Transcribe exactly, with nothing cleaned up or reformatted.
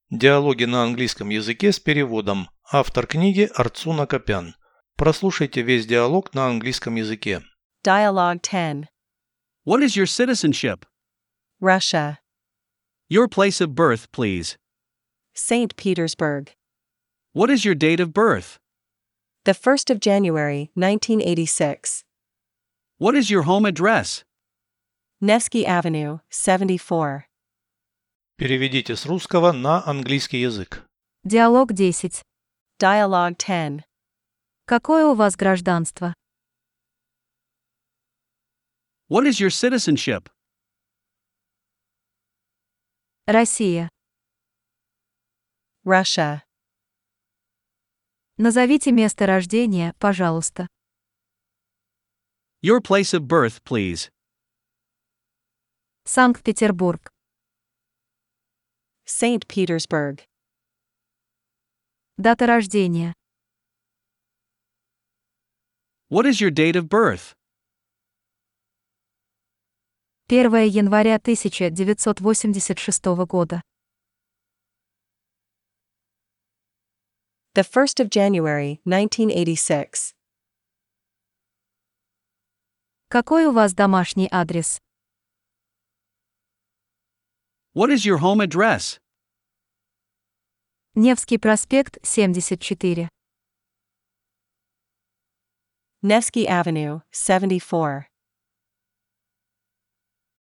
Диалоги на английском языке с переводом. Автор книги Арцуна Акопян. Прослушайте весь диалог на английском языке. Dialogue ten. What is your citizenship? Russia. Your place of birth, please. Saint Petersburg. What is your date of birth? The first of January, nineteen eighty-six. What is your home address? Nevsky Avenue, seventy-four. Переведите с русского на английский язык. Диалог десять. Dialogue ten. Какое у вас гражданство? What is your citizenship? Россия. Russia. Назовите место рождения, пожалуйста. Your place of birth, please. Санкт-Петербург. Saint Petersburg. Дата рождения. What is your date of birth? первое января тысяча девятьсот восемьдесят шестого года. The first of January, nineteen eighty-six. Какой у вас домашний адрес? What is your home address? Невский проспект, семьдесят четыре. Nevsky Avenue, seventy-four.